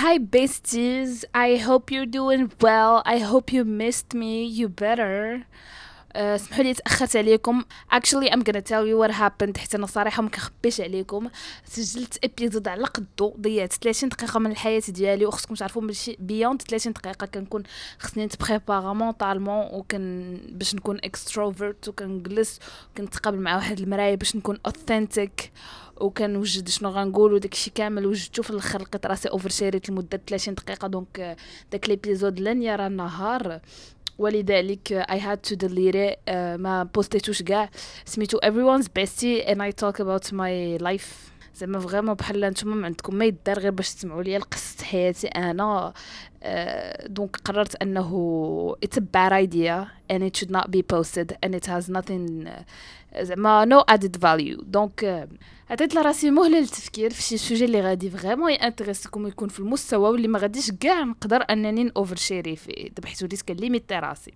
Hi besties, I hope you're doing well. I hope you missed me. You better. اسمحوا لي تاخرت عليكم. Actually I'm gonna tell you what happened. حيت انا صراحه ما كنخبيش عليكم، سجلت ابيزود على قدو، ضيعت 30 دقيقه من الحياه ديالي، وخصكم تعرفوا ماشي بيوند 30 دقيقه كنكون خصني نتبريبارا مونطالمون، وكن باش نكون اكستروفرت، وكنجلس وكنتقابل مع واحد المرايه باش نكون اوثنتيك، وكنوجد شنو غنقول، وداكشي كامل وجدته في الاخر لقيت راسي اوفر شيريت لمده 30 دقيقه. دونك داك ليبيزود لن يرى النهار، ولذلك I had to delete it. ما بوستيتوش كاع. سميتو everyone's bestie and I talk about my life. زعما فريمون بحال نتوما ما عندكم ما يدار غير باش تسمعوا لي قصه حياتي انا. دونك قررت انه it's a bad idea and it should not be posted and it has nothing زعما no added value. دونك عطيت لراسي مهله للتفكير في شي سوجي اللي غادي فريمون يانتريسكم ويكون في المستوى واللي ما غاديش كاع نقدر انني اوفر شيري فيه. دابا حيت وليت كنليميتي راسي،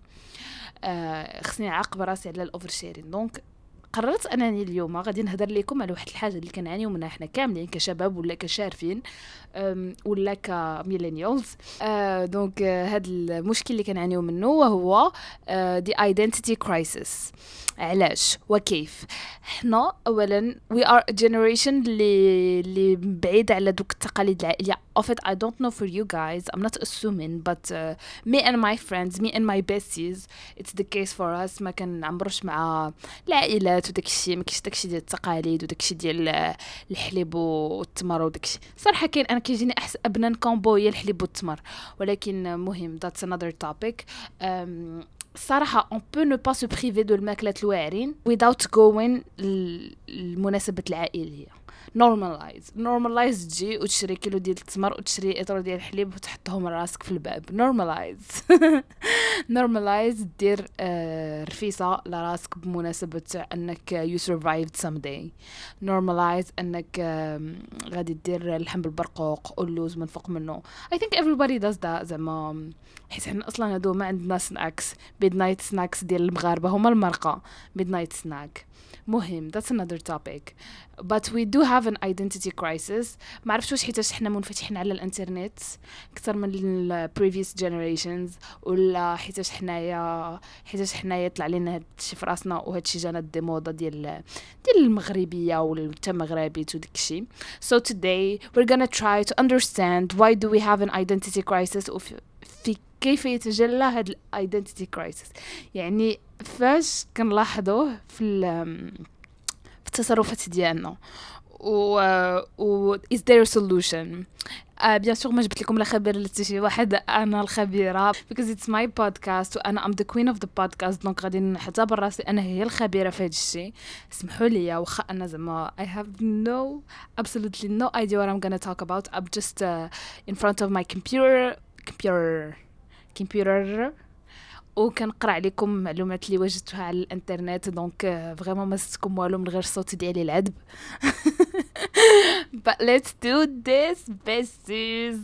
خصني نعاقب راسي على الاوفر شيرين. دونك قررت انني اليوم غادي نهضر لكم على واحد الحاجه اللي كنعانيو منها حنا كاملين كشباب ولا كشارفين ولا كميلينيالز. دونك هذا المشكل اللي كنعانيو منه وهو the identity crisis. علاش وكيف؟ حنا اولا we are a generation اللي بعيد على دوك التقاليد العائليه. of it I don't know for you guys, I'm not assuming, but me and my friends, me and my besties, it's the case for us. ما كنعمروش مع العائلات وداكشي، ما كاينش داكشي ديال التقاليد وداكشي ديال الحليب والتمر وداكشي. صراحه كاين، انا كيجيني احسن ابنان كومبو هي الحليب والتمر، ولكن مهم that's another topic. صراحة on peut ne pas se priver de الماكلة الواعرين without going المناسبة العائلية. normalize تجي وتشري كيلو ديال التمر وتشري اطر ديال الحليب وتحطهم راسك في الباب. normalize دير رفيسة لراسك بمناسبة انك you survived someday. normalize انك غادي دير اللحم بالبرقوق واللوز من فوق منه. I think everybody does that. زعما حيت حنا اصلا هادو ما عندنا سناكس. midnight snacks ديال المغاربه هما المرقه midnight snack. مهم that's another topic. but we do have an identity crisis. ما عرفتش واش حيتاش حنا منفتحين على الانترنت اكثر من ال previous generations، ولا حيتاش حنايا طلع لنا هادشي في راسنا وهادشي جانا دي موضه ديال المغربيه والمغربي وداكشي. so today we're gonna try to understand why do we have an identity crisis في كيف يتجلى هاد الايدنتيتي كرايسيس. يعني فاش كنلاحظوه في التصرفات ديالنا و is there a solution. بيان سور ما جبت لكم لا خبير لتي شي واحد، انا الخبيره because it's my podcast وانا I'm the queen of the podcast. دونك غادي نعتبر راسي انا هي الخبيره في هذا الشيء. اسمحوا لي واخا انا زعما I have absolutely no idea what I'm gonna talk about. I'm just in front of my computer وكنقرا عليكم معلومات اللي وجدتها على الانترنت. دونك فريمون ما زدتكم والو من غير الصوت ديالي العذب. but let's do this besties.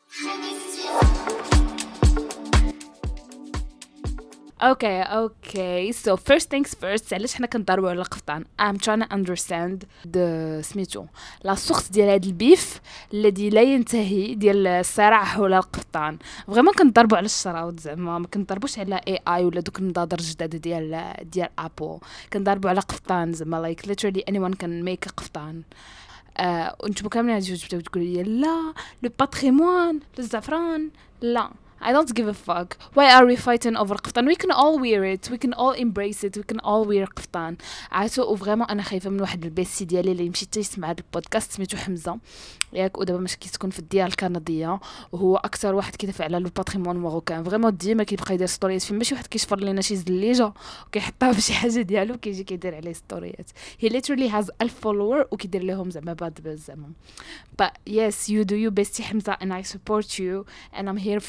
Okay, so first things first. علاش حنا كنضربوا على القفطان؟ I'm trying to understand the سميتو لا سورس ديال هذا البيف الذي لا ينتهي ديال الصراع حول القفطان. فريمون كنضربوا على الشراوط، زعما ما كنضربوش على AI ولا دوك النضاضر الجداد ديال ابل. كنضربوا على قفطان، زعما like literally anyone can make a قفطان. وانتم كاملين غادي تقولوا لي لا لو باتريمون الزعفران. لا I don't give a fuck. Why are we fighting over قفطان? We can all wear it. We can all embrace it. We can all wear قفطان. عاتو فريمون انا خايفه من واحد البيسي ديالي اللي يمشي يسمع هذا البودكاست سميتو حمزه ياك، ودابا ماشي كيسكن في الديار الكنديه، وهو اكثر واحد كيدافع على لو باتريمون ماروكان. فريمون ديما كيبقى يدير ستوريات فين ماشي واحد كيشفر لينا شي زليجه وكيحطها في شي حاجه ديالو كيجي كيدير عليه ستوريات. He literally has 1000 follower وكيدير لهم زعما باد بز زعما. But yes, you do you bestie حمزه and I support you and I'm here for you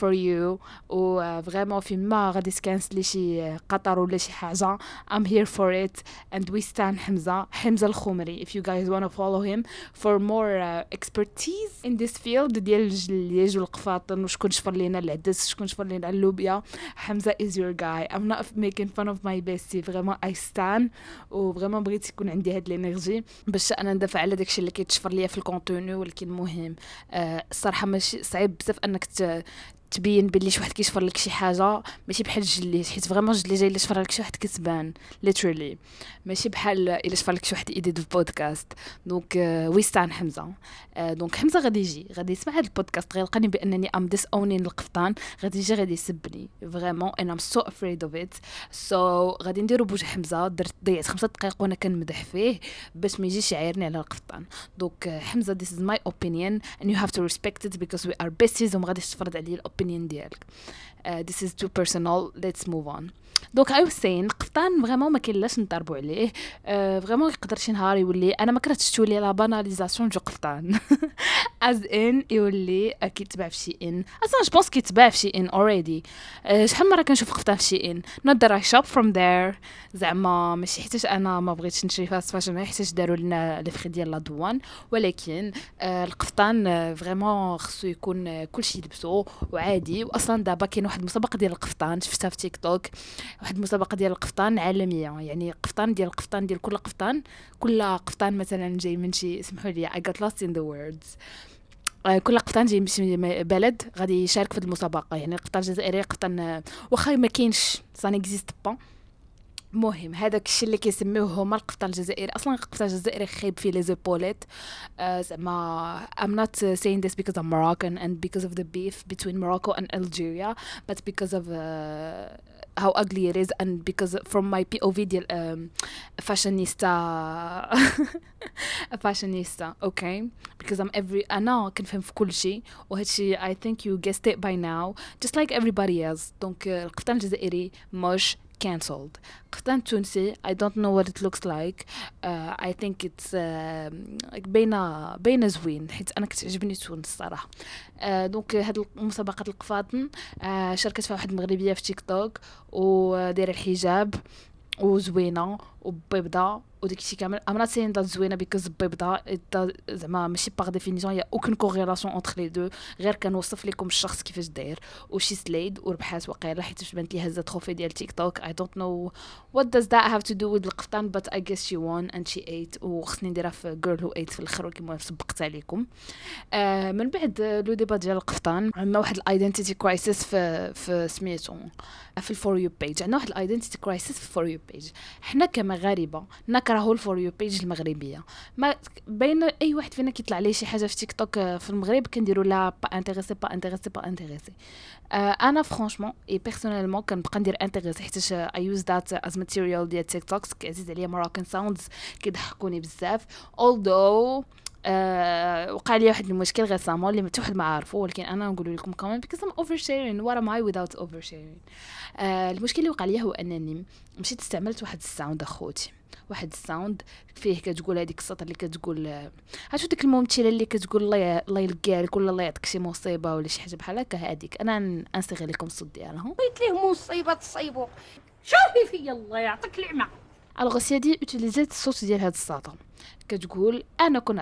you و vraiment فين ما غادي تكنسلي شي قطر ولا شي حاجة I'm here for it and we stand حمزة الخمري if you guys want to follow him for more expertise in this field ديال الجليج والقفاطن وشكون شفر لينا العدس شكون شفر لينا اللوبيا. حمزة is your guy. I'm not making fun of my bestie, vraiment I stand و vraiment بغيت يكون عندي هاد الانرجي باش انا ندافع على داكشي اللي كيتشفر ليا في الكونتوني. ولكن مهم الصراحه ماشي صعيب بزاف انك تبين باللي شي واحد كيشفر لك شي حاجه ماشي بحال الجليج حيت فريمون الجليج الا شفر لك شي واحد كتبان literally ماشي بحال الا شفر لك شي واحد ايديت في بودكاست. دونك ويستان حمزه. دونك حمزه غادي يسمع هذا البودكاست غيلقاني بانني ام ديس اونين القفطان غادي يسبني فريمون and I'm so afraid of it. so غادي نديرو بوجه حمزه ضيعت 5 دقائق وانا كنمدح فيه باش ما يجيش يعايرني على القفطان. دونك حمزه this is my opinion and you have to respect it because we are besties وما غاديش تفرض عليا الاوبينيون ديالك. this is too personal, let's move on. دونك I was saying قفطان فريمون ما كاينلاش نضربوا عليه. فريمون يقدر شي نهار يولي انا ما كرهتش تولي لا باناليزاسيون جو قفطان as in يولي كيتباع في شي ان اصلا جو بونس كيتباع في شي ان already. شحال مره كنشوف قفطان في شي ان not that I shop from there زعما ماشي حيتاش انا ما بغيتش نشري فاست فاشن حيتاش داروا لنا لي فري ديال لا دوان ولكن القفطان فريمون خصو يكون كلشي يلبسو وعادي. واصلا دابا كاين واحد المسابقه ديال القفطان شفتها في تيك توك واحد المسابقه ديال القفطان عالميه يعني قفطان ديال كل قفطان مثلا جاي من شي سمحوا لي I got lost in the words كل قفطان جاي من شي بلد غادي يشارك في المسابقه يعني القفطان الجزائري قفطان واخا ما كاينش سا نيكزيست با. مهم هذاك الشيء اللي كيسميوه هما القفطان الجزائري. اصلا القفطان الجزائري خايب فيه لي زيبوليت زعما I'm not saying this because I'm Moroccan and because of the beef between Morocco and Algeria but because of how ugly it is and because from my POV ديال fashionista okay because أنا كنفهم في كل شيء وهادشي I think you guessed it by now just like everybody else. دونك القفطان الجزائري مش cancelled. قفطان تونسي I don't know what it looks like. I think it's بين زوين حيت انا كتعجبني تونس الصراحه. دونك هاد المسابقه القفاطن شاركت فيها واحد المغربيه في تيك توك ودايره الحجاب وزوينه وبيضاء وداكشي كامل. I'm not saying that زوينه because بيضاء زعما ماشي باغ ديفينيسيون يا اوكن كوريلاسيون انتر لي دو غير كنوصف لكم الشخص كيفاش داير وشي سلايد وربحات وقيله حيت بانت لي هزه تروفي ديال تيك توك. I don't know what does that have to do with القفطان but I guess she won and she ate وخصني نديرها في girl who ate في الاخر كيما سبقت عليكم. من بعد لو ديبا ديال القفطان عندنا واحد الايدنتيتي كرايسيس في سميتو في الفور يو بيج. عندنا واحد الايدنتيتي كرايسيس في الفور يو بيج. حنا كمغاربه نكرهوا الفور يو بيج المغربيه. ما بين اي واحد فينا كيطلع ليه شي حاجه في تيك توك في المغرب كنديروا لا با انتريسي. انا فرانشمون اي بيرسونيلمون كنبقى ندير انتريسي حيت I use that as material ديال تيك توك. كيعزيز عليا Moroccan sounds كيضحكوني بزاف although وقع لي واحد المشكل غيسامون اللي حتى واحد ما عارفه ولكن انا نقول لكم كمان because I'm oversharing what am I without oversharing. المشكل اللي وقع لي هو انني مشيت استعملت واحد الساوند اخوتي واحد الساوند فيه كتقول هذيك السطر اللي كتقول عرفتوا ديك الممثله اللي كتقول الله يلقاك ولا الله يعطيك شي مصيبه ولا شي حاجه بحال هكا. هذيك انا انصيغ لكم الصوت ديالها قلت ليه مصيبه تصيبوا شوفي فيا الله يعطيك العمى. الوغ سيدي اوتيليزيت الصوت ديال هاد السطر كتقول انا كون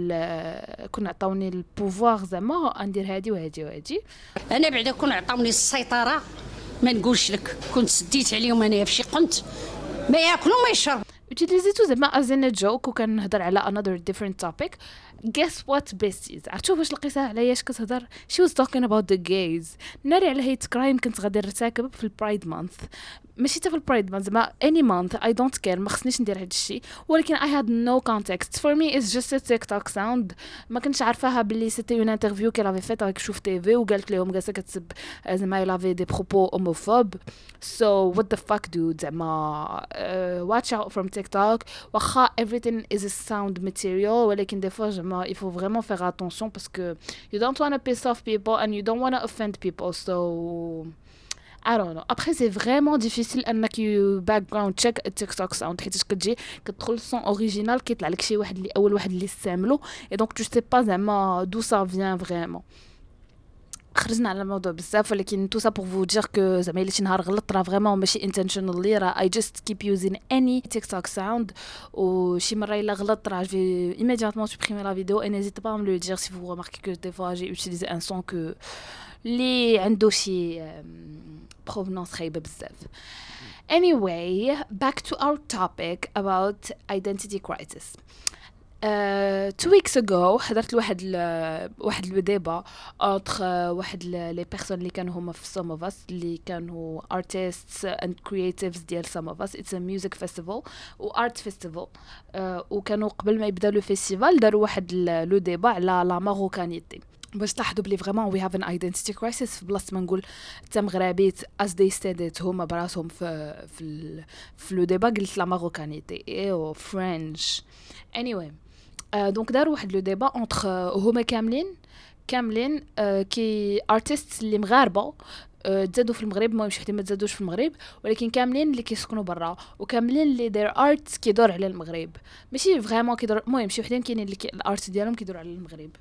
عطاوني البوفوار زعما ندير هادي وهادي انا بعدا كون عطاوني السيطره ما نقولش لك كنت سديت عليهم انايا فشي قنت ما ياكلوا ما يشربوا. utiliزيتو زعما ازين جوك وكنهضر على another different topic. guess what besties عرفتوا واش لقيتها عليا اش كتهضر she was talking about the gays ناري على هيت كرايم كنت غادي نرتكب في البرايد مانث ماشي حتى في البرايد مانث زعما any month I don't care ما خصنيش ندير هذا الشيء ولكن I had no context for me it's just a TikTok sound ما كنتش عارفاها باللي c'était une interview qu'elle avait faite avec شوف تيفي وقالت لهم جالسه كتسب زعما il avait des propos homophobes so what the fuck dude زعما watch out from TikTok واخا everything is a sound material ولكن des fois il faut vraiment faire attention parce que you don't want to piss off people and you don't want to offend people so I don't know. Après c'est vraiment difficile انك you background check a TikTok sound حيت كتجي كتدخل الصون اوريجينال كيطلع لك شي واحد اللي اول واحد اللي استعملو et donc tu sais pas زعما d'où ça vient vraiment. خرجنا على الموضوع بزاف ولكن تو سا بور فو دير كو زعما الا شي نهار غلطت راه فريمون ماشي انتشنالي راه اي جاست كيب يوزين اني تيك توك ساوند وشي مره الا غلطت راه في immédiatement supprimer la vidéo et n'hésitez pas à me le dire si vous remarquez que des fois j'ai utilisé un son que li عنده شي provenance خايبه بزاف. Anyway, back to our topic about identity crisis. 2 weeks ago حضرت واحد لو ديبا entre واحد لي بيرسون اللي كانوا هما في some of us اللي كانوا artists and creatives ديال some of us. It's a music festival و art festival. وكانوا قبل ما يبدا لو فيستيفال داروا واحد لو ديبا على لا ماروكانيتي باش تلاحظوا بلي فريمون we have an identity crisis. في بلاصه ما نقول تا مغربي as they said it هما براسهم في لو ديبا قلت لا ماروكانيتي ايو فرنش. anyway دونك داروا واحد لو ديبا اونتر هما كاملين كي ارتيست اللي مغاربه تزادوا في المغرب ما مش حتى ما تزادوش في المغرب ولكن كاملين اللي كيسكنوا برا وكاملين اللي دير ارت كيدور على المغرب ماشي فريمون كيدور المهم شي وحدين كاينين اللي الارت ديالهم كيدور على المغرب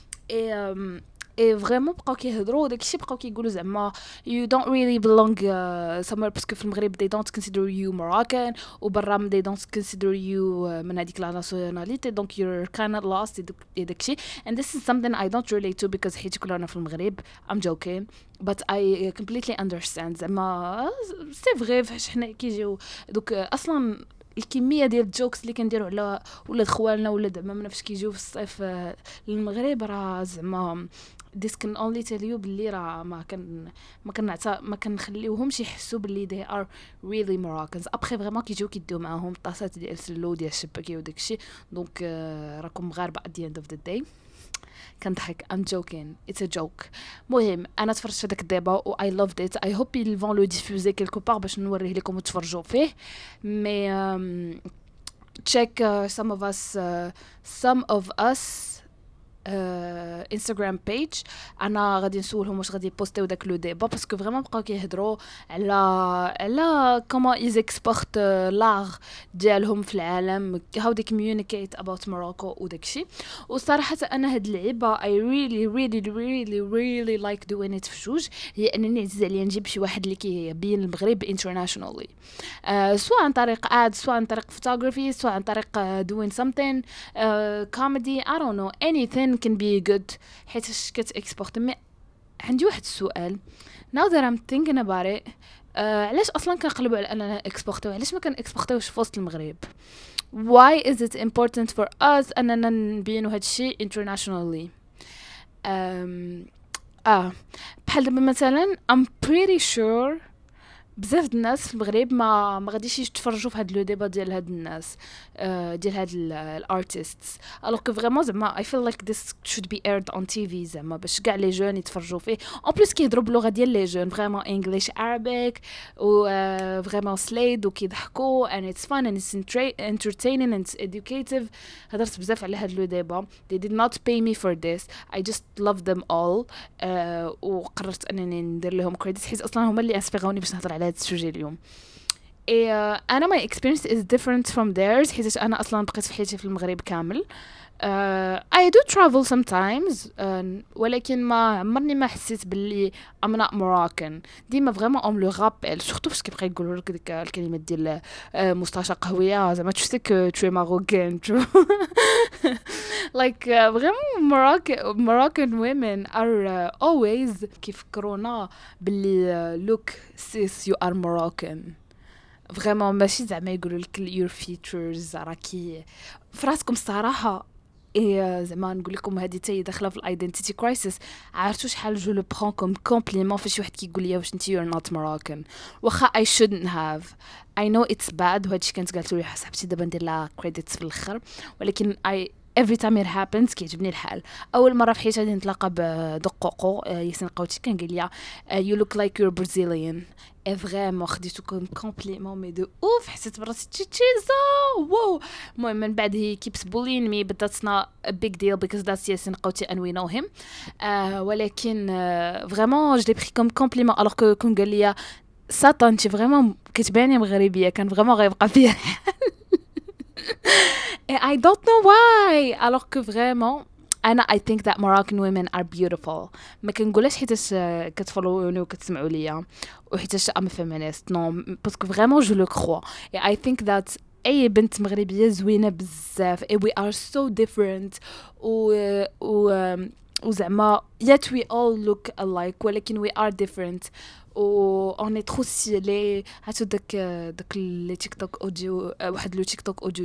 اي فريمون بقاو كيهضروا داكشي بقاو كيقولوا زعما you don't really belong somewhere باسكو في المغرب they don't consider you Moroccan وبرا they don't consider you من هذيك لا ناسيوناليتي donc you're kind of lost داكشي and this is something I don't relate to because حيت كلنا في المغرب I'm joking but I completely understand زعما سي فري فاش حنا كيجيو دوك اصلا الكميه ديال الجوكس اللي كنديروا على ولاد خوالنا ولاد عمامنا فاش كيجيو في الصيف للمغرب راه زعما this can only tell you باللي راه ما كنخليوهمش يحسوا باللي they are really Moroccans. ابخي فريمون كيجيو كيديو معاهم طاسات ديال سلو ديال الشباكيه وداكشي دونك راكم مغاربه at the end of the day. كنضحك I'm joking it's a joke. مهم انا تفرجت في داك الديبا و I loved it. I hope ils vont le diffuser quelque part باش نوريه لكم وتفرجوا فيه مي check some of us انستغرام بيج. انا غادي نسولهم واش غادي يبوستيو داك لو ديبا باسكو فريمون بقاو كيهضروا على كومون ايز اكسبورت لاغ ديالهم في العالم how they communicate about Morocco وداكشي. وصراحه انا هاد اللعيبه I really like doing it في جوج هي انني عزيز عليا نجيب شي واحد اللي كيبين المغرب internationally سواء عن طريق ads سواء عن طريق photography سواء عن طريق doing something comedy I don't know anything can be good حيت كتاكسبورت. مي عندي واحد السؤال now that I'm thinking about it علاش اصلا كنقلبوا على اننا اكسبورتو علاش ما كان اكسبورتوش في وسط المغرب why is it important for us اننا نبينوا هذا الشيء internationally بحال دابا مثلا I'm pretty sure بزاف د الناس في المغرب ما غاديش يتفرجوا في هاد لو ديبا ديال هاد الناس ديال هاد الارتيستس الوغ كو فريمون زعما I feel like this should be aired on TV زعما باش كاع لي جون يتفرجوا فيه اون بليس كيهضروا باللغه ديال لي جون فريمون انجليش عربيك و فريمون سليد وكيضحكوا and it's fun and it's entertaining and it's educative. هضرت بزاف على هاد لو ديبا they did not pay me for this I just love them all وقررت انني ندير لهم كريديت حيت اصلا هما اللي انسبيروني باش نهضر على هذا السوجي اليوم. انا my experience is different from theirs حيت انا اصلا بقيت في حياتي في المغرب كامل. I do travel sometimes ولكن ما عمرني ما حسيت باللي I'm not Moroccan. ديما فريمون on le rappelle surtout فاش كيبقى يقولوا لك ديك الكلمات ديال مستشار قهويه زعما tu sais que tu es Marocain like vraiment Moroccan women are always كيفكرونا باللي look sis you are Moroccan فريمون ماشي زعما يقولوا لك your features راكي فراسكم الصراحه زعما نقول لكم هذه تاي داخله في الايدنتيتي كرايسيس. عرفتوا شحال جو لو برون كوم كومبليمون فاش واحد كيقول لي واش انت you're not Moroccan واخا I shouldn't have I know it's bad وهادشي كانت قالت لي حسبتي دابا ندير لها كريديتس في الاخر ولكن every time it happens كيعجبني الحال. اول مره في حياتي غادي نتلاقى بدقوقو ياسين قوتي كان قال لي you look like you're Brazilian فريمون خديتو كومبليمون مي دو اوف حسيت براسي تشيزا واو. المهم من بعد هي keeps bullying me but that's not a big deal because that's ياسين قوتي and we know him ولكن فريمون je l'ai pris comme compliment alors que كون قال لي ساطا انت فريمون كتباني مغربيه كان فريمون غيبقى فيها I don't know why alors que vraiment انا I think that Moroccan women are beautiful. ما كنقولش حيتاش كتفولوني وكتسمعوا ليا وحيتاش ام فيمينيست نو باسكو فريمون جو لو كرو. I think that اي بنت مغربيه زوينه بزاف we are so different و وزعما yet we all look alike ولكن we are different و on est trop stylé. هاتو داك لي تيك توك اوديو واحد لو تيك توك اوديو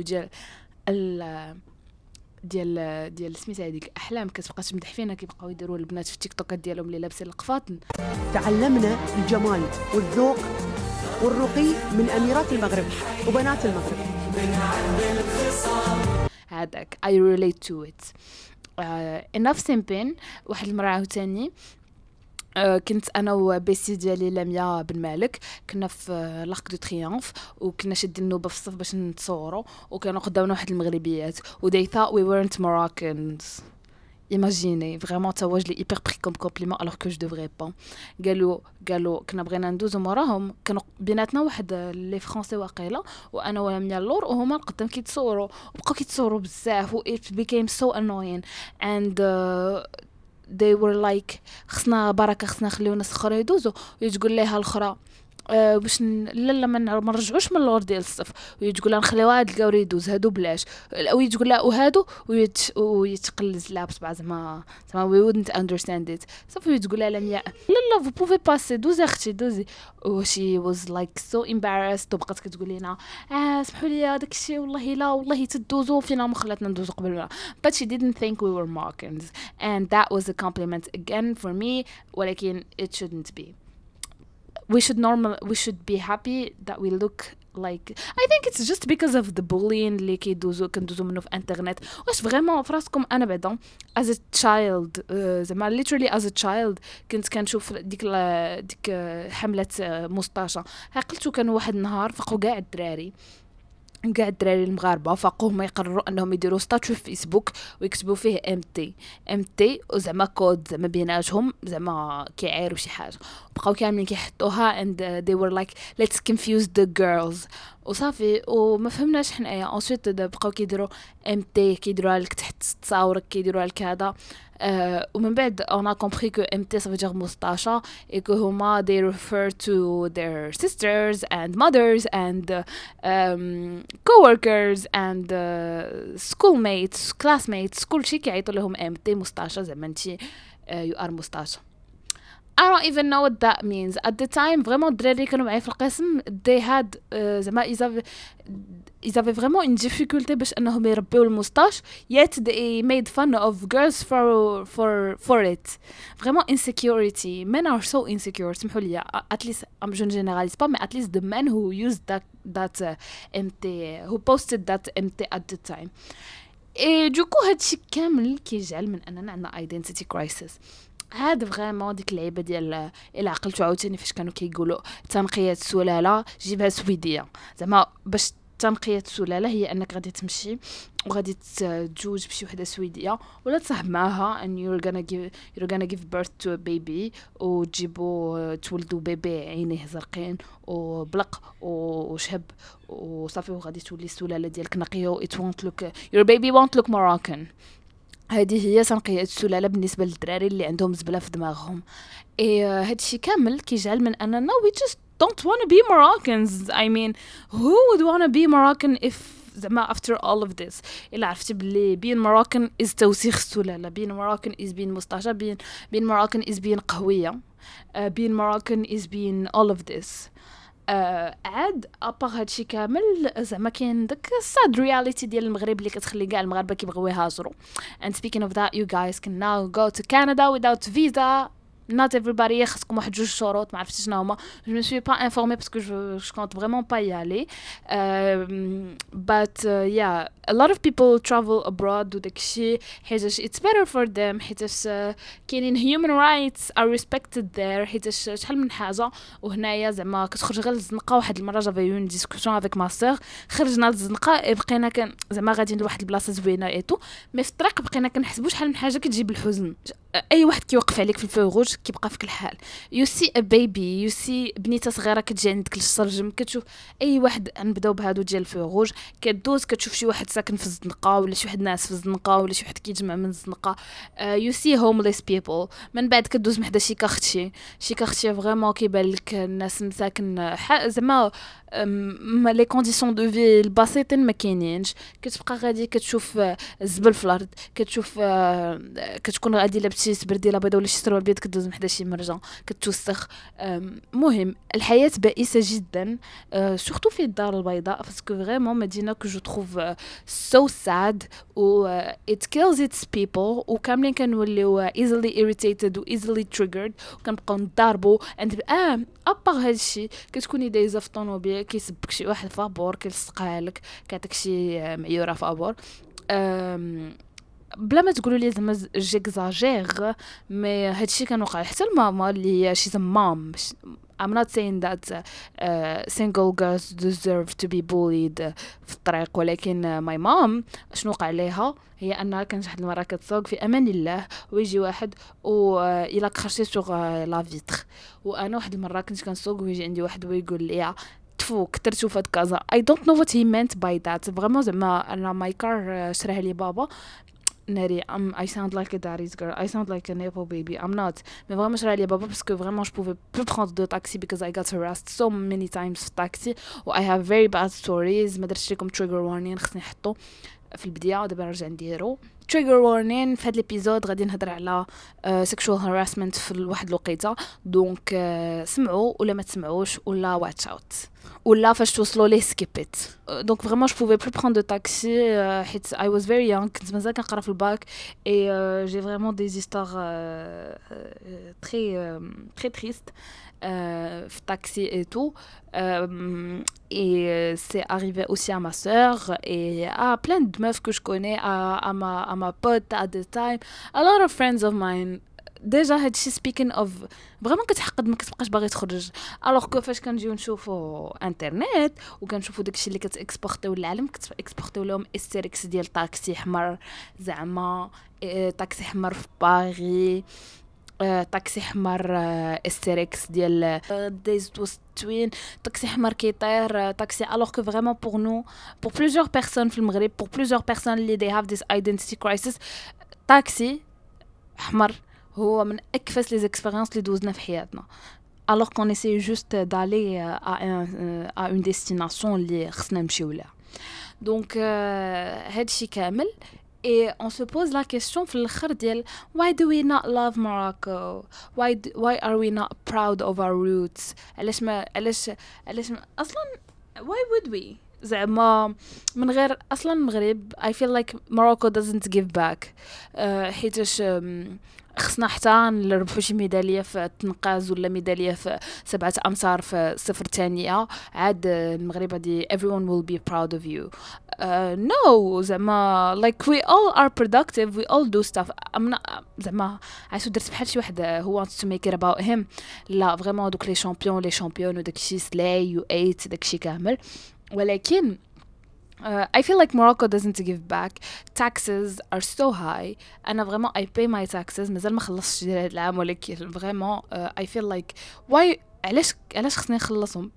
ديال سميتها هذيك احلام كتبقى تمدح فينا كيبقاو يديروا البنات في التيك توكات ديالهم اللي لابسين القفاطن. تعلمنا الجمال والذوق والرقي من اميرات المغرب وبنات المغرب. هذاك I relate to it. enough simping. واحد المرة عاوتاني كنت انا وبيسي ديالي لميا بن مالك كنا في لاك دو تريومف وكنا شادين النوبه في الصف باش نتصوروا وكانوا قدامنا واحد المغربيات و they thought we weren't Moroccans. Imaginez vraiment تواج لي hyper pris comme compliment alors que je devrais pas. قالوا كنا بغينا ندوزو موراهم كانوا بيناتنا واحد لي فرونسي واقيلا وانا ولميا اللور وهما القدام كيتصوروا وبقاو كيتصوروا بزاف و it became so annoying and they were like خصنا بركه خصنا نخليو ناس اخرى يدوزوا ويتقول ليها الاخرى باش لا ما نرجعوش من اللور ديال الصف ويتقول لها نخليو هاد الكاوري يدوز هادو بلاش او يتقول لها وهادو ويتقلز لابس بعد زعما we wouldn't understand it صافي يتقول لها لميا لا vous pouvez passer دوزي اختي دوزي و she was like so embarrassed وبقات كتقول لنا سمحوا لي داك الشيء والله لا والله تدوزوا فينا ما خلاتنا ندوزوا قبل but she didn't think we were Moroccans and that was a compliment again for me ولكن it shouldn't be. We should be happy that we look like. I think it's just because of the bullying اللي كندوزو منه في انترنت. واش فريمون فراسكم انا بعدا as a child زعما literally as a child كنت كنشوف ديك حملة مستاشة عقلتو كان واحد النهار فقوا كاع الدراري المغاربه فاقوا هما يقرروا انهم يديروا ستاتيو في فيسبوك ويكتبوا فيه ام تي وزعما كود زعما بيناتهم زعما كيعايروا شي حاجه بقاو كاملين كيحطوها and they were like let's confuse the girls وصافي وما فهمناش حنايا انسويت بقاو كيديروا ام تي كيديروها لك تحت تصاورك كيديروها لك هذا ومن بعد on a compris que MT ça veut dire moustache et que هما they refer to their sisters and mothers and co-workers and schoolmates classmates كل شيء كيعيطوا لهم MT moustache زعما انتي you are moustache. I don't even know what that means at the time. Vraiment الدراري كانوا معايا في القسم they had زعما ils avaient vraiment une difficulté باش انهم يربيو الموستاش yet they made fun of girls for it. Vraiment insecurity. Men are so insecure. سمحوا لي at least I'm je ne généralise pas mais at least the men who used that MT who posted that MT at the time. et du coup هادشي كامل كيجعل من اننا عندنا identity crisis. هذا فريمون ديك اللعيبه ديال الا عقلتو عاوتاني فاش كانوا كيقولوا تنقيه السلاله جيبها سويديه زعما باش تنقيه السلاله هي انك غادي تمشي وغادي تتزوج بشي وحده سويديه ولا تصاحب معاها and you're gonna give birth to a baby وتجيبوا تولدوا بيبي عينيه زرقين وبلق وشهب وصافي وغادي تولي السلاله ديالك نقيه و it won't look your baby won't look Moroccan. هذه هي تنقية السلالة بالنسبة للدراري اللي عندهم زبلة في دماغهم. هادشي كامل كيجعل من أننا we just don't want to be Moroccans. I mean who would want to be Moroccan if زعما after all of this إلا عرفتي بلي being Moroccan is توسيخ السلالة being Moroccan is being مستعجة being Moroccan is being قهوية being Moroccan is being all of this. عاد ابار هادشي كامل زعما كاين داك الساد رياليتي ديال المغرب اللي كتخلي كاع المغاربه كيبغيو يهاجروا. and speaking of that you guys can now go to Canada without visa. not everybody خصكم واحد جوج شروط ما عرفتش شنو هما je me suis pas informée parce que je compte vraiment pas y aller but yeah a lot of people travel abroad وداكشي حيتاش it's better for them حيتاش كاينين human rights are respected there حيتاش شحال من حاجه وهنايا زعما كتخرج غير للزنقه. واحد المره جافي اون ديسكوسيون افيك ما سور خرجنا للزنقه بقينا كان زعما غاديين لواحد البلاصه زوينه ايتو مي في الطريق بقينا كنحسبوا شحال من حاجه كتجيب الحزن. اي واحد كيوقف عليك في الفو روج كيبقى فيك الحال. you see a baby, you see بنيته صغيره كتجي عندك للشرجم، كتشوف اي واحد، نبداو بهادو ديال الفيغوج، كدوز كتشوف شي واحد ساكن في الزنقه ولا شي واحد ناس في الزنقه ولا شي واحد كيجمع من الزنقه. you see homeless people. من بعد كدوز محدا شي كارتشي فريمون كيبان لك الناس مساكن زعما لي كونديسيون دو في البسيطين ما كاينينش. كتبقى غادي كتشوف الزبل في الارض، كتشوف كتكون غادي لابسي سبرديله بيضاء ولا شي سروال بيض، كدوز محدا شي مرجان كتوسخ. مهم الحياه بائسه جدا، سورتو في الدار البيضاء، باسكو فريمون مدينه كو جو تروف سو ساد و it kills its people، وكاملين كنوليو easily irritated و easily triggered، وكنبقاو نضاربو ابار هادشي. كتكوني دايزه في طونوبيل كيسبك شي واحد فابور كيلصقها لك، كيعطيك شي معيوره فابور، بلا ما تقولوا لي زعما جيكزاجير، مي هادشي كان وقع حتى الماما اللي شي مام. I'm not saying that single girls deserve to be bullied في الطريق، ولكن my mom شنو وقع عليها هي انها كانت واحد المره كتسوق في امان الله، ويجي واحد و الى كرشي سوغ لا فيتر، وانا واحد المره كنت كنسوق ويجي عندي واحد ويقول لي تفو كثرتو فهاد كازا. I don't know what he meant by that. فريمون زعما انا ماي كار شراها لي بابا ناري. I sound like a daddy's girl, I sound like a nepo baby, I'm not. Mais vraiment je suis allée baba parce que vraiment je pouvais plus prendre de taxi because I got harassed so many times في taxi و I have very bad stories. ما درتش لكم trigger warning، خصني نحطو في البدايه ودابا نرجع نديرو trigger warning. في هذا الابيزود غادي نهضر على sexual harassment في واحد الوقيته، دونك سمعوا ولا ما تسمعوش ولا watch out ولا فاش توصلوا ليه سكيبيت. دونك فريمون جو بوفي بلو برون دو تاكسي حيت I was very young، كنت مازال كنقرا في الباك اي جي فريمون دي زيستار تري تري تريست في التاكسي اي تو. et c'est arrivé aussi à ma sœur et à plein de meufs que je connais, à ma pote at the time, a lot of friends of mine. ديجا هادشي speaking of فريمون كتحقد ما كتبقاش باغي تخرج. الوغ كو فاش كنجيو نشوفوا انترنت وكنشوفوا داكشي اللي كتاكسبورتيو للعالم، كتاكسبورتيو لهم استريكس ديال طاكسي حمر، زعما طاكسي حمر في باغي، طاكسي حمر استريكس ديال ديز توين، طاكسي حمر كيطير طاكسي. الوغ كو فريمون بور نو بور بليزيور بيرسون في المغرب، بور بليزيور بيرسون اللي they have this identity crisis، طاكسي حمر هو من اكفس لي زيكسبيريونس اللي دوزنا في حياتنا. alors qu'on essaie juste d'aller à une destination اللي خصنا نمشيو لها. donc هادشي كامل et on se pose la question في الاخر ديال why do we not love Morocco, why are we not proud of our roots. علاش ما اصلا why would we زعما من غير اصلا المغرب I feel like Morocco doesn't give back. حيتاش خصنا حتى نربحوا شي ميداليه في التنقاز ولا ميداليه في 7 أمتار في صفر ثانيه عاد المغرب غادي everyone will be proud of you. no زعما like we all are productive, we all do stuff. زعما عايشو درت بحال شي واحد who wants to make it about him. لا فريمون دوك لي شامبيون وداكشي سلاي يو ايت داكشي كامل، ولكن I feel like Morocco doesn't give back. Taxes are so high. أنا vraiment I pay my taxes. مازال ما خلصتش هذا العام، ولكن vraiment I feel like why علاش خصني نخلصهم.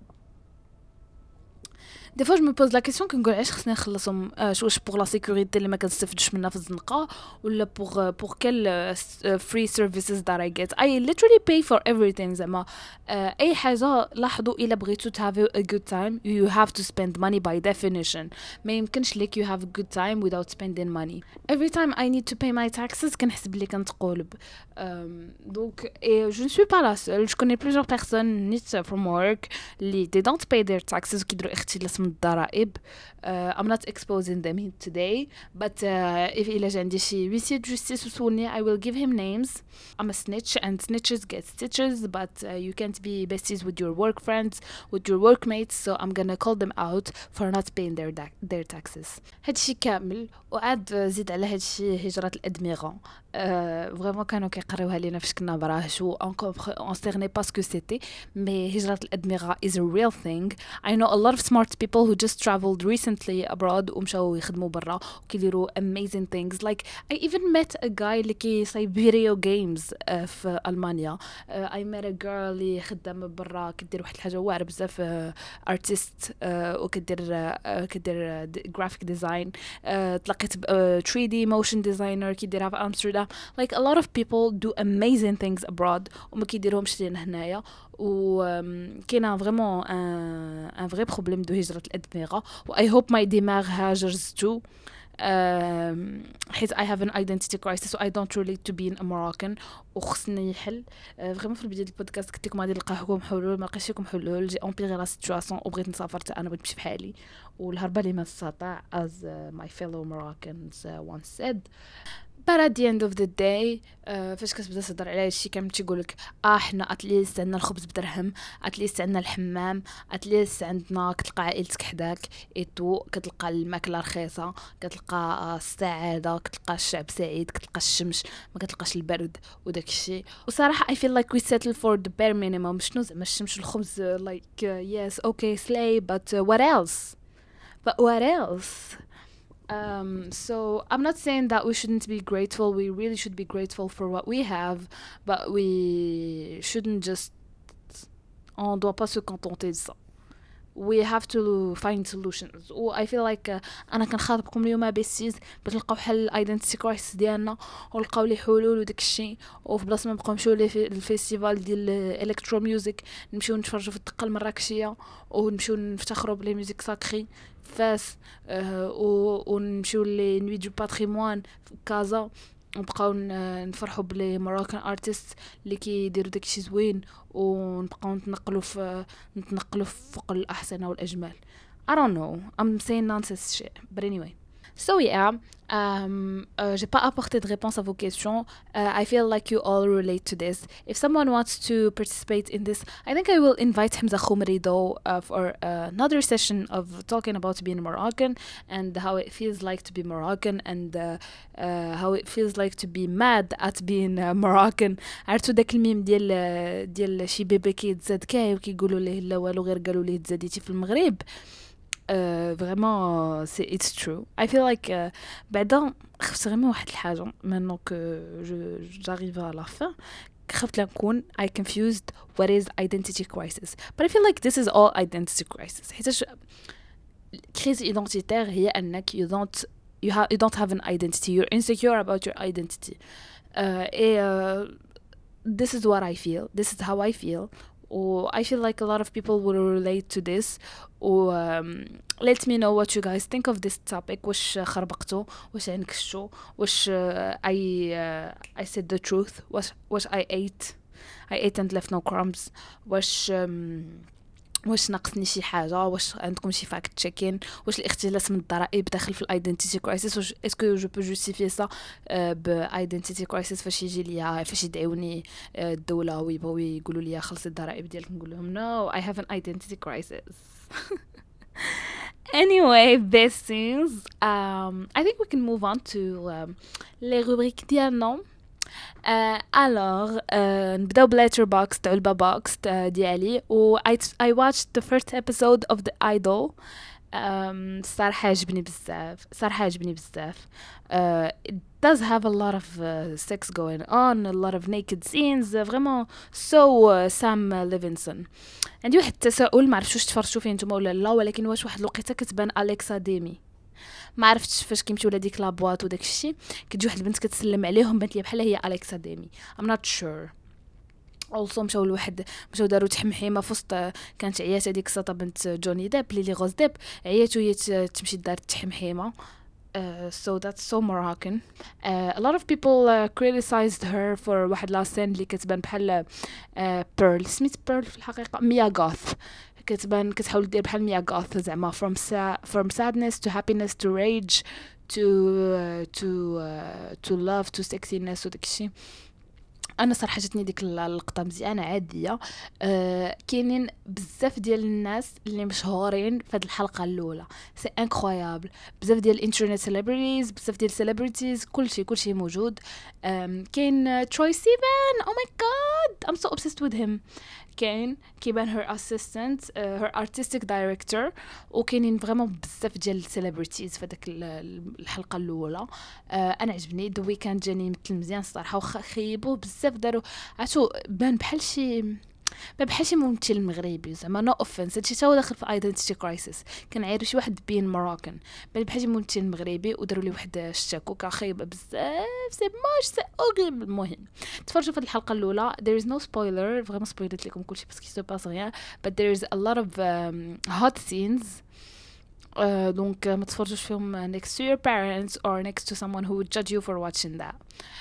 دي فوا جو مي بوز لا كيسيون كنقول علاش خصني نخلصهم. واش بوغ لا سيكوريتي اللي ما كنستافدش منها في الزنقه، ولا بوغ كل فري سيرفيسز that I get. I literally pay for everything. زعما اي حاجه لاحظوا الا بغيتو to have a good time you have to spend money by definition. ما يمكنش لك you have a good time without spending money. Every time I need to pay my taxes كنحسب لي كنتقولب. donc et je ne suis pas la seule. Je connais plusieurs personnes not from work اللي they don't pay their taxes وكيديروا اختلاس من الضرائب. I'm not exposing them today, but if إلا جا عندي شي huissier de justice وسولني I will give him names. I'm a snitch and snitches get stitches, but you can't be besties with your work friends, with your workmates, so I'm gonna call them out for not paying their taxes. هادشي كامل وعاد زيد على هادشي هجرة الأدمغة. فريمون كانوا كيقريوها لينا فاش كنا براهش و on cerné pas ce que c'était mais هجرة الأدمغة is a real thing. I know a lot of smart people who just traveled recently abroad ومشاو يخدموا برا وكيديروا amazing things. Like I even met a guy اللي كيصايب video games في ألمانيا. I met a girl اللي خدام برا كدير واحد الحاجة واعرة بزاف artist كدير graphic design. تلاقيت 3D motion designer كيديرها في أمستردام. Like a lot of people do amazing things abroad وما كيديروهمش لينا هنايا. و كاينه فريمون ان فري بروبليم دو هجرة الأدمغة و I hope my دماغ هاجرز too. حيت I have an identity crisis so I don't relate to being a Moroccan وخصني يحل. فريمون في البداية البودكاست قلت لكم غادي نلقى لكم حلول، ما لقيتش لكم حلول. جي امبيغي لا سيتواسيون وبغيت نسافر حتى انا، بغيت نمشي بحالي والهربه لي ما تستطاع as my fellow Moroccans once said. But at the end of the day فاش كتبدا تهضر على هادشي كامل تيقولك حنا اتليست عندنا الخبز بدرهم، اتليست عندنا الحمام، اتليست عندنا كتلقى عائلتك حداك ايتو، كتلقى الماكله رخيصه، كتلقى السعاده، كتلقى الشعب سعيد، كتلقى الشمس، ما كتلقاش البرد وداك الشيء. وصراحه I feel like we settle for the bare minimum. شنو زعما الشمس والخبز like yes okay slay but what else? But what else? So I'm not saying that we shouldn't be grateful. We really should be grateful for what we have, but we shouldn't just, on doit pas se contenter de ça. We have to find solutions. و I feel like أنا كنخاطبكم اليوم بيسيز باش نلقاو حل identity crisis ديالنا ونلقاو لي حلول وداك الشيء. وفي بلاصه ما نبقاو نمشيو للفيستيفال ديال الالكترو ميوزك، نمشيو نتفرجوا في الدقه المراكشيه ونمشيو نفتخروا بلي ميوزيك ساكري فاس ونمشيو لي نوي دو باتريمون في كازا ونبقاو نفرحوا بلي مراكن ارتست اللي كيديروا داكشي زوين ونبقاو نتنقلوا في فوق الاحسن والاجمل. I don't know, I'm saying nonsense shit, but anyway. So yeah, j'ai pas apporté de réponse à vos questions. I feel like you all relate to this. If someone wants to participate in this, I think I will invite Hamza Khoumri though for another session of talking about being Moroccan and how it feels like to be Moroccan and how it feels like to be mad at being Moroccan. عرفتوا داك الميم ديال شي بيبي كيتزاد كاي وكيقولوا ليه لا والو غير قالوا ليه تزاديتي في المغرب. Vraiment it's true. I feel like بعدا خفت غير من واحد الحاجه maintenant que j'arrive à la fin. خفت نكون I confused what is identity crisis, but I feel like this is all identity crisis. حيت crise identitaire هي انك you don't have an identity, you're insecure about your identity. This is what I feel, this is how I feel. I feel like a lot of people will relate to this. Let me know what you guys think of this topic. واش خربقتوا، واش انكشتوا، واش I said the truth، واش I ate and left no crumbs، واش ناقصني شي حاجه، واش عندكم شي فاكت تشيكين، واش الاختلاس من الضرائب داخل في الايدنتيتي كرايسيس، واش اسكو جو بو جوستيفي سا بايدنتيتي كرايسيس فاش يجي ليا فاش يدعوني الدوله ويبغوا يقولوا لي خلصي الضرائب ديالك، نقول لهم no I have an identity crisis. Anyway, besties, I think we can move on to les rubriques ديالنا. alors نبداو بLetterboxd تاع البابوكس ديالي و I watched the first episode of The Idol. صراحة عجبني بزاف. It does have a lot of sex going on, a lot of naked scenes, vraiment so Sam Levinson. عندي واحد التساؤل، ما عرفتش واش تفرجتوا فيه نتوما ولا لا، ولكن واش واحد الوقيته كتبان أليكسا ديمي، ما عرفتش فاش كيمشيو لهاديك لابواط وداك الشيء كتجي واحد البنت كتسلم عليهم بانت لي بحال هي أليكسا ديمي. I'm not sure. also مشاو داروا تحمحيمه في وسط، كانت عيات هذيك الساطه بنت جوني ديب ليلي غوز ديب، عيات وهي تمشي دار التحمحيمه. So that's so Moroccan. A lot of people criticized her for واحد لا سين اللي كتبان بحال بيرل، سميت بيرل في الحقيقه ميا غوث، كتحاول دير بحال ميا غوث زعما from sadness to happiness to rage to love to sexiness وداك الشيء. انا صراحه جاتني ديك اللقطه مزيانه عاديه. كاينين بزاف ديال الناس اللي مشهورين في هذه الحلقه الاولى، سي انكرويابل. بزاف ديال الانترنت سيلبرتيز، بزاف ديال السيلبرتيز، كلشي موجود. كاين تروي سيفن، او ماي جاد ام سو obsessed with him. كاين كيبان هير اسيستنت، هير ارتستيك دايركتور، وكاينين فريمون بزاف ديال السيلبرتيز في داك الحلقه الاولى. انا عجبني ذا ويكاند، جاني مثل مزيان صراحه، وخا خيبوه بزاف، داروا عرفتو بان بحال شي ممثل مغربي، زعما نو اوفنس، هادشي تا هو داخل في ايدنتيتي كرايسيس. كنعيرو شي واحد بين مراكن، بان بحال شي ممثل مغربي وداروا ليه واحد الشاكوكه خايبه بزاف، سي موش سي اوغيبل. المهم تفرجوا في الحلقه الاولى. there is no spoiler، فريمون سبويلت لكم كلشي باسكو سو باس غيان، but there is a lot of hot scenes. دونك ما تفرجوش فيهم next to your parents or next to someone who would judge you for watching that.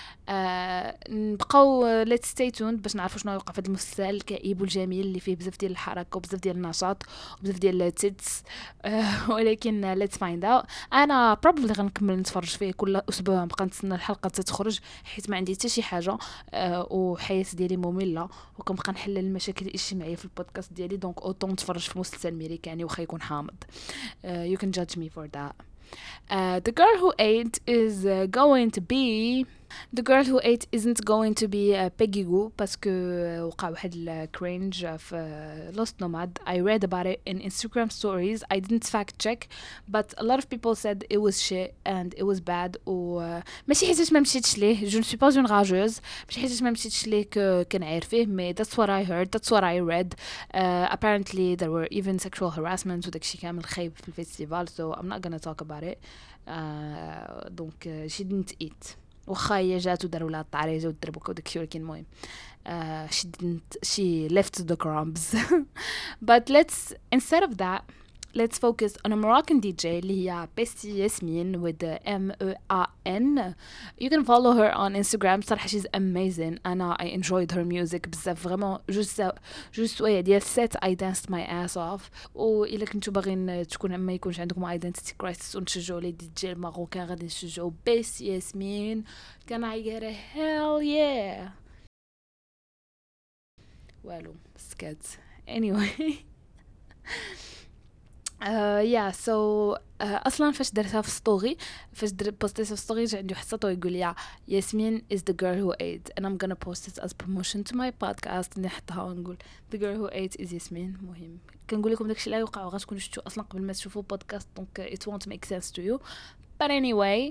نبقاو let's stay tuned باش نعرفوا شنو يوقع في هذا المسلسل الكئيب والجميل اللي فيه بزاف ديال الحركه وبزاف ديال النشاط وبزاف ديال التيتس. ولكن let's find out. انا probably غنكمل نتفرج فيه كل اسبوع، نبقى نتسنى الحلقه تخرج حيت ما عندي حتى شي حاجه، وحياه ديالي ممله، وكنبقى نحل المشاكل الاجتماعيه في البودكاست ديالي. دونك اوتون نتفرج في مسلسل امريكاني واخا يكون حامض. You can judge me for that. The girl who ate is going to be The girl who ate isn't going to be Peggy Gou باسكو وقع واحد الكرينج في Lost Nomad. I read about it in Instagram stories. I didn't fact check but a lot of people said it was shit and it was bad. ماشي حيتاش ما مشيتش ليه، je ne suis pas une rageuse، ماشي حيتاش ما مشيتش ليه كنعرفيه، مي that's what I heard, that's what I read. Apparently there were even sexual harassment وداكشي كامل خايب في الفيستيفال, so I'm not gonna talk about it. دونك she didn't eat. وخا هي جات وداروا لها الطعريجه والدربكه وداكشي، ولكن المهم she left the crumbs. But instead of that let's focus on a Moroccan DJ اللي هي Bestie Yasmin with the M-E-A-N. You can follow her on Instagram. صراحة she's amazing. أنا I enjoyed her music بزاف، vraiment just ديال set I danced my ass off. وإلا كنتو باغين تكون ما يكونش عندكم identity crisis ونشجعوا لي DJ الماروكان، غادي نشجعوا Bestie Yasmin. Can I get a hell yeah؟ والو سكت anyway. so اصلا فاش درتها في ستوري، فاش بوستيتها في ستوري جا عندي واحد السطو يقول لي ياسمين is the girl who ate and I'm gonna post it as promotion to my podcast. نحطها ونقول the girl who ate is ياسمين. مهم كنقول لكم داكشي اللي يوقع وغتكونوا شفتوا اصلا قبل ما تشوفوا البودكاست، دونك it won't make sense to you. But anyway,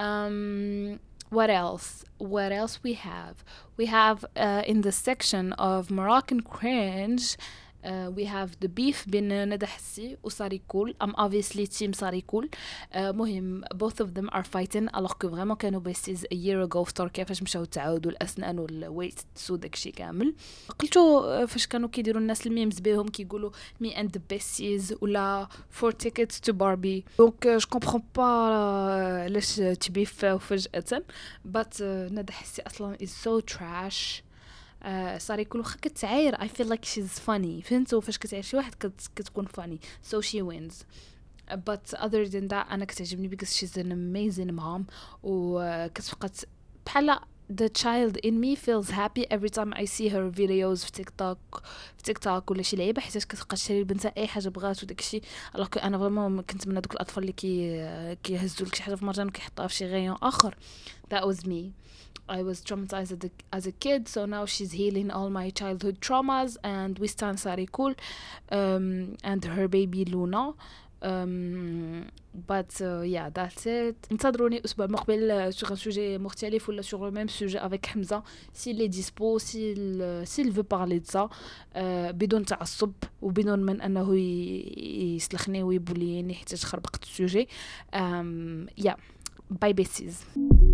what else we have in the section of Moroccan cringe. We have the beef بين ندى حسي و ساريكول. I'm obviously team ساريكول. مهم both of them are fighting alors que vraiment كانوا besties a year ago في تركيا فاش مشاو تعاودوا الأسنان والويت سو داكشي كامل. قلتو فاش كانوا كيديروا الناس الميمز بهم كيقولوا me and the besties ولا 4 tickets to Barbie. donc je comprends pas علاش تبيفاو فجأة. but ندى حسي أصلا is so trash. صار كل وخا كتعاير I feel like she's funny. فهمتوا فاش كتعاير شي واحد كتكون funny so she wins. but other than that أنا كتعجبني because she's an amazing mom. وكتبقى بحال the child in me feels happy every time I see her videos في تيك توك ولا شي لعيبه، حيت كتبقى تشري البنت اي حاجه بغات وداكشي. alors que انا فريمون كنت من هذوك الاطفال اللي كيهزوا لك شي حاجه في مرجان وكيحطوها في شي غيون اخر. that was me. I was traumatized as a kid, so now she's healing all my childhood traumas and we stand Sarikul and her baby Luna. but yeah that's it. انتظروني الاسبوع المقبل sur un sujet مختلف ولا sur le même sujet avec Hamza s'il est dispo, s'il veut parler de ça بدون تعصب وبدون من انه يسلخني ويبوليني حتى خربقت السوجي. yeah bye besties.